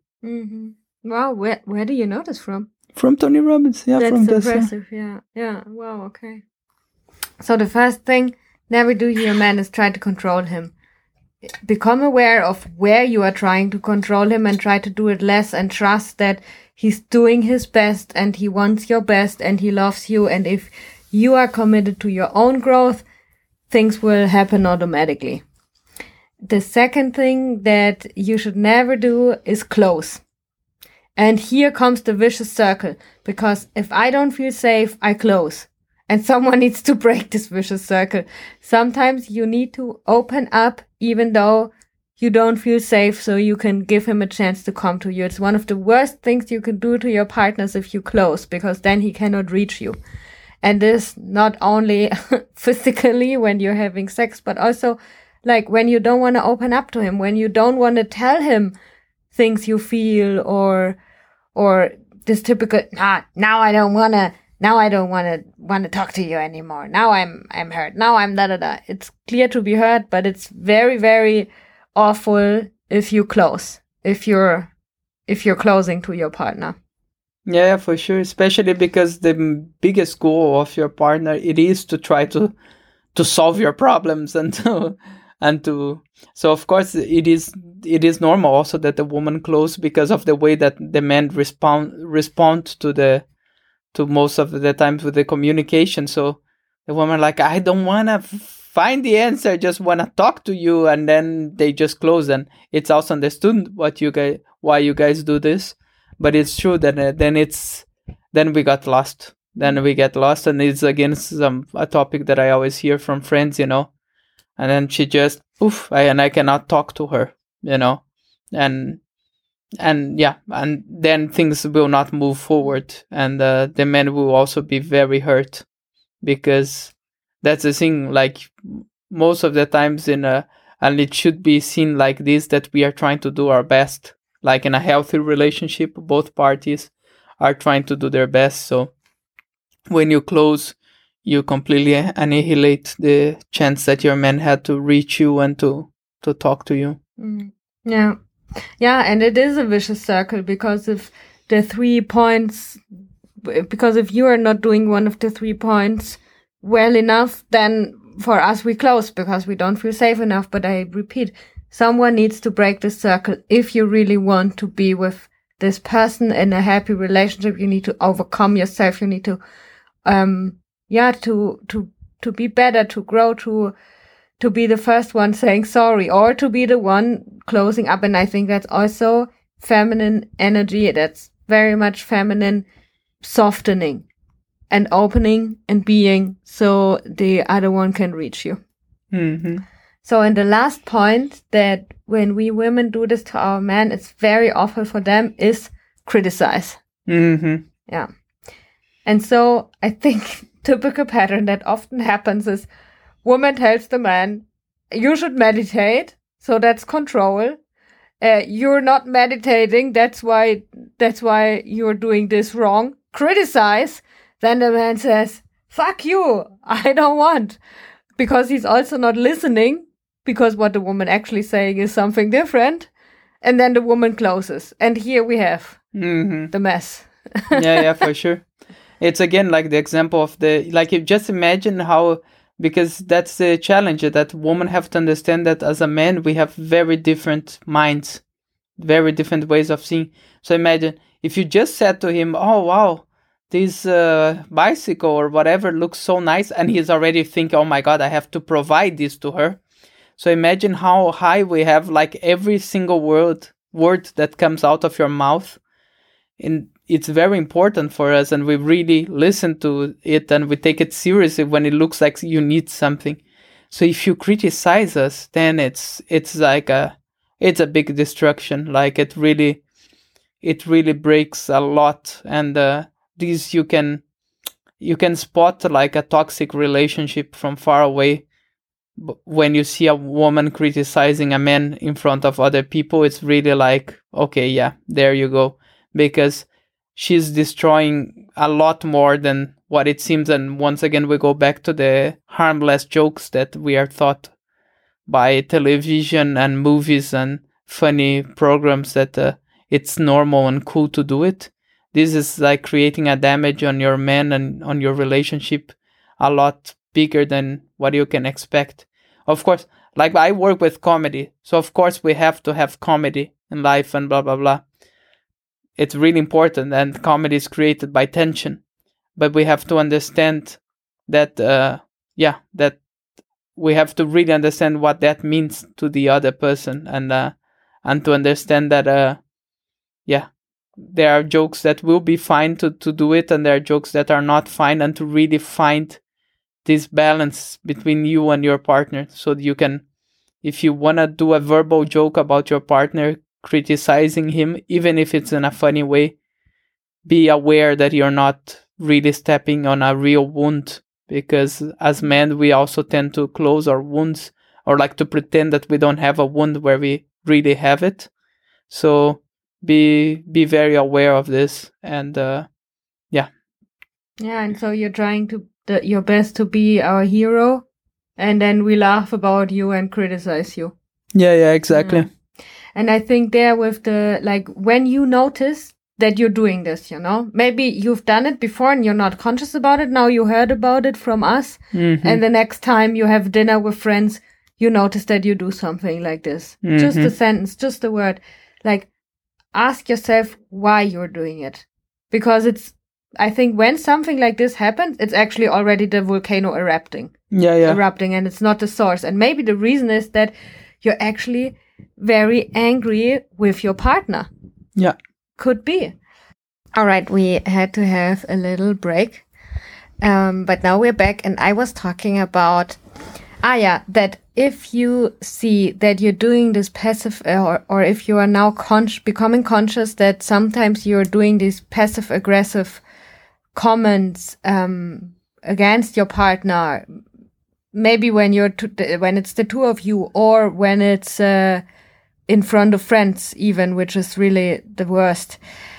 Wow, where do you know this from? From Tony Robbins, That's from this. Impressive, yeah. Wow, okay. So the first thing, never do your man is try to control him. Become aware of where you are trying to control him and try to do it less, and trust that he's doing his best and he wants your best and he loves you. And if you are committed to your own growth, things will happen automatically. The second thing that you should never do is close. And here comes the vicious circle, because if I don't feel safe, I close. And someone needs to break this vicious circle. Sometimes you need to open up even though you don't feel safe, so you can give him a chance to come to you. It's one of the worst things you can do to your partners if you close, because then he cannot reach you. And this not only physically when you're having sex, but also when you don't want to open up to him, when you don't want to tell him things you feel, or this typical, now I don't want to talk to you anymore. Now I'm hurt. Now I'm da-da-da. It's clear to be hurt, but it's very, very awful if you close, if you're closing to your partner. Yeah, for sure. Especially because the biggest goal of your partner, it is to try to solve your problems and to. So of course it is normal also that the woman close, because of the way that the men respond to most of the times with the communication. So the woman I don't want to find the answer, I just want to talk to you, and then they just close. And it's also understood why you guys do this. But it's true that then we got lost. Then we get lost, and it's again a topic that I always hear from friends, and then she just and I cannot talk to her, and then things will not move forward, and the man will also be very hurt, because that's the thing, like most of the times and it should be seen like this, that we are trying to do our best, like in a healthy relationship, both parties are trying to do their best. So when you close, you completely annihilate the chance that your man had to reach you and to talk to you. Yeah. Yeah, and it is a vicious circle, because if if you are not doing one of the 3 points well enough, then for us we close because we don't feel safe enough. But I repeat, someone needs to break the circle. If you really want to be with this person in a happy relationship, you need to overcome yourself. You need to, to be better, to grow, to be the first one saying sorry, or to be the one closing up. And I think that's also feminine energy. That's very much feminine, softening and opening and being, so the other one can reach you. Mm-hmm. So in the last point, that when we women do this to our men, it's very awful for them, is criticize. Mm-hmm. Yeah. And so I think typical pattern that often happens is woman tells the man, you should meditate. So that's control. You're not meditating. That's why you're doing this wrong. Criticize. Then the man says, fuck you. I don't want. Because he's also not listening, because what the woman actually saying is something different. And then the woman closes. And here we have the mess. yeah, for sure. It's again like the example of you just imagine how, because that's the challenge, that women have to understand that as a man, we have very different minds, very different ways of seeing. So imagine if you just said to him, oh, wow, this bicycle or whatever looks so nice, and he's already thinking, oh my God, I have to provide this to her. So imagine how high we have, like every single word that comes out of your mouth. And it's very important for us, and we really listen to it, and we take it seriously when it looks like you need something. So if you criticize us, then it's like it's a big destruction. Like it really breaks a lot. And this you can spot like a toxic relationship from far away. When you see a woman criticizing a man in front of other people, it's really like, okay, yeah, there you go. Because she's destroying a lot more than what it seems. And once again, we go back to the harmless jokes that we are taught by television and movies and funny programs, that it's normal and cool to do it. This is like creating a damage on your man and on your relationship a lot bigger than what you can expect. Of course, like I work with comedy, so of course we have to have comedy in life and blah, blah, blah. It's really important, and comedy is created by tension. But we have to understand that, that we have to really understand what that means to the other person, and to understand that, there are jokes that will be fine to do it, and there are jokes that are not fine, and to really find this balance between you and your partner, so that you can, if you want to do a verbal joke about your partner, criticizing him, even if it's in a funny way, be aware that you're not really stepping on a real wound, because as men we also tend to close our wounds, or like to pretend that we don't have a wound where we really have it. So be very aware of this. And and so you're trying to your best to be our hero, and then we laugh about you and criticize you. Yeah, exactly. And I think there with when you notice that you're doing this, maybe you've done it before and you're not conscious about it. Now you heard about it from us. Mm-hmm. And the next time you have dinner with friends, you notice that you do something like this. Mm-hmm. Just a sentence, just a word. Ask yourself why you're doing it. Because I think when something like this happens, it's actually already the volcano erupting. Erupting, and it's not the source. And maybe the reason is that you're actually very angry with your partner. Yeah. Could be. All right, we had to have a little break. But now we're back, and I was talking about That if you see that you're doing this passive, or if you are now becoming conscious that sometimes you're doing these passive aggressive comments against your partner, maybe when when it's the two of you, or when it's in front of friends even, which is really the worst.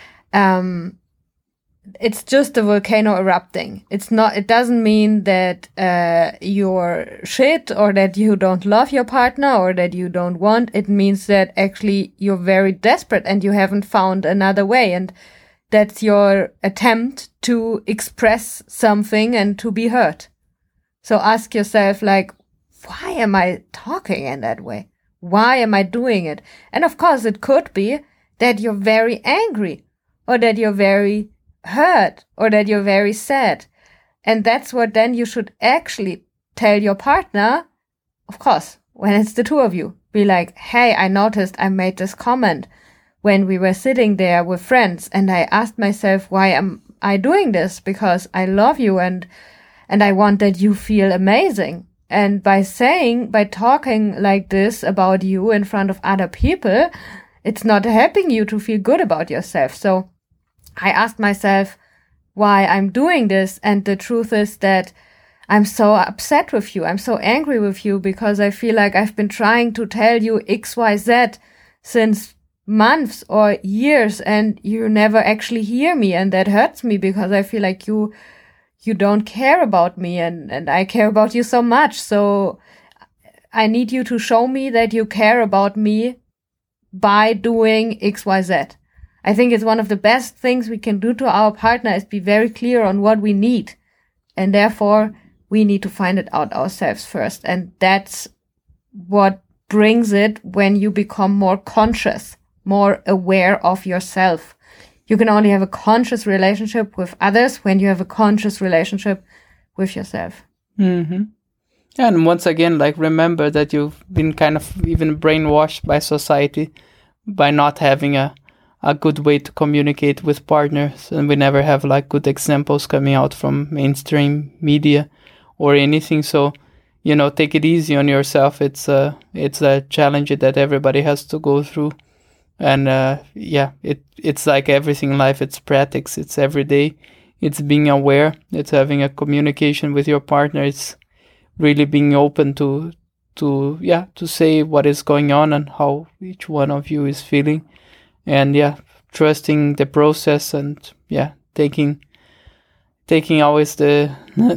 It's just a volcano erupting. It doesn't mean that you're shit, or that you don't love your partner, or that you don't want. It means that actually you're very desperate and you haven't found another way. And that's your attempt to express something and to be heard. So ask yourself, like, why am I talking in that way? Why am I doing it? And of course, it could be that you're very angry, or that you're very hurt, or that you're very sad. And that's what then you should actually tell your partner, of course, when it's the two of you. Be like, hey, I noticed I made this comment when we were sitting there with friends, and I asked myself, why am I doing this? Because I love you and I want that you feel amazing. And by talking like this about you in front of other people, it's not helping you to feel good about yourself. So I asked myself why I'm doing this, and the truth is that I'm so upset with you. I'm so angry with you because I feel like I've been trying to tell you XYZ since months or years, and you never actually hear me, and that hurts me because I feel like you don't care about me, and I care about you so much. So I need you to show me that you care about me by doing XYZ. I think it's one of the best things we can do to our partner is be very clear on what we need. And therefore, we need to find it out ourselves first. And that's what brings it when you become more conscious, more aware of yourself. You can only have a conscious relationship with others when you have a conscious relationship with yourself. Mm-hmm. And once again, like, remember that you've been kind of even brainwashed by society by not having a good way to communicate with partners, and we never have like good examples coming out from mainstream media or anything. So, take it easy on yourself. It's a challenge that everybody has to go through, and it's like everything in life. It's practice. It's every day. It's being aware. It's having a communication with your partner. It's really being open to say what is going on and how each one of you is feeling. And trusting the process, and taking always the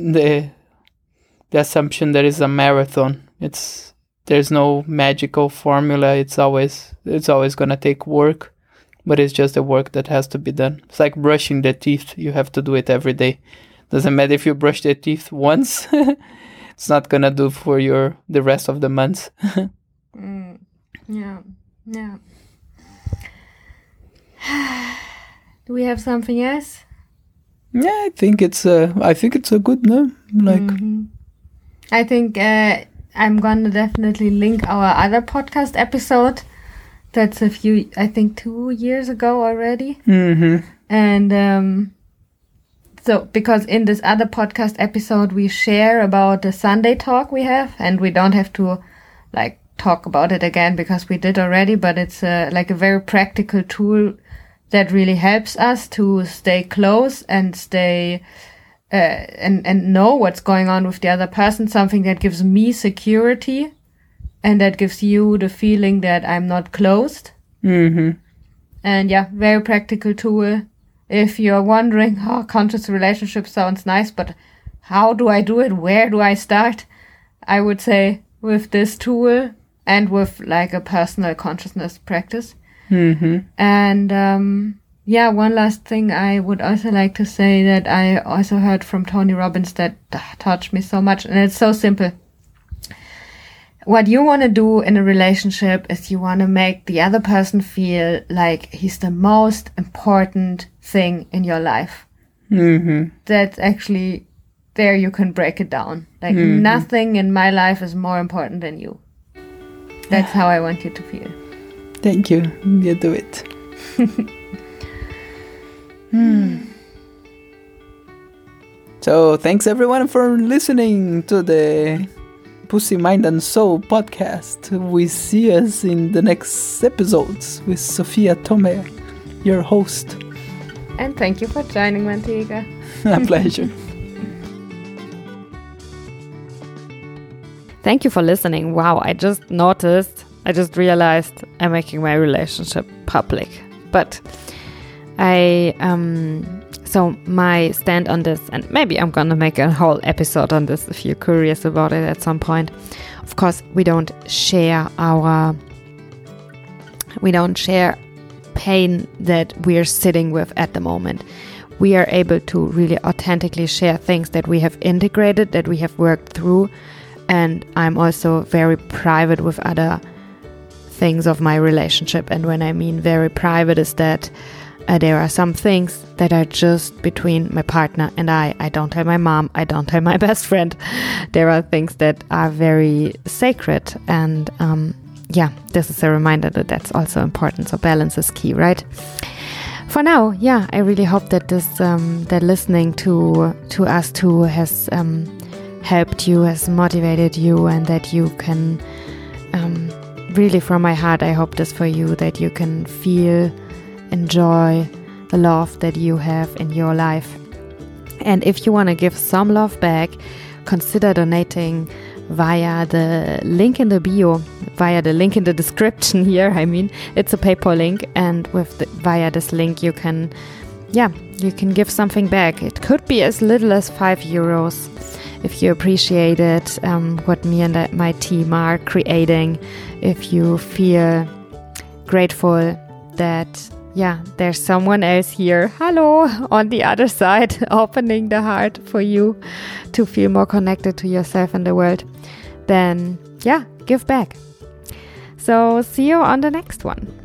assumption that it's a marathon. There's no magical formula. It's always gonna take work, but it's just the work that has to be done. It's like brushing the teeth. You have to do it every day. Doesn't matter if you brush the teeth once. It's not gonna do for the rest of the months. Yeah. Do we have something else? Yeah, I think it's a good, no? Like, I think I'm gonna definitely link our other podcast episode. That's I think 2 years ago already. Mm-hmm. And so because in this other podcast episode we share about the Sunday talk we have, and we don't have to like talk about it again because we did already, but it's like a very practical tool that really helps us to stay close and stay and know what's going on with the other person, something that gives me security and that gives you the feeling that I'm not closed. Mm-hmm. And very practical tool. If you're wondering, conscious relationship sounds nice, but how do I do it? Where do I start? I would say with this tool and with like a personal consciousness practice. Mm-hmm. And one last thing I would also like to say that I also heard from Tony Robbins that touched me so much, and it's so simple. What you want to do in a relationship is you want to make the other person feel like he's the most important thing in your life. Mm-hmm. That's actually, there you can break it down. Like nothing in my life is more important than you. That's how I want you to feel. Thank you. You do it. So thanks everyone for listening to the Pussy, Mind and Soul podcast. We see us in the next episodes with Sofia Tome, your host. And thank you for joining, Manteca. A pleasure. Thank you for listening. Wow, I just realized I'm making my relationship public. But so my stand on this, and maybe I'm gonna make a whole episode on this if you're curious about it at some point. Of course, we don't share pain that we're sitting with at the moment. We are able to really authentically share things that we have integrated, that we have worked through. And I'm also very private with other things of my relationship. And when I mean very private is that there are some things that are just between my partner and I. I don't tell my mom. I don't tell my best friend. There are things that are very sacred. And this is a reminder that that's also important. So balance is key, right? For now, I really hope that this that listening to us two has helped you, has motivated you, and that you can really, from my heart, I hope this for you, that you can feel, enjoy the love that you have in your life. And if you want to give some love back, consider donating via the link in the bio, via the link in the description here. I mean, it's a PayPal link, and via this link you can give something back. It could be as little as €5 if you appreciate it, what me and my team are creating. If you feel grateful that there's someone else here, hello, on the other side, opening the heart for you to feel more connected to yourself and the world, then give back. So see you on the next one.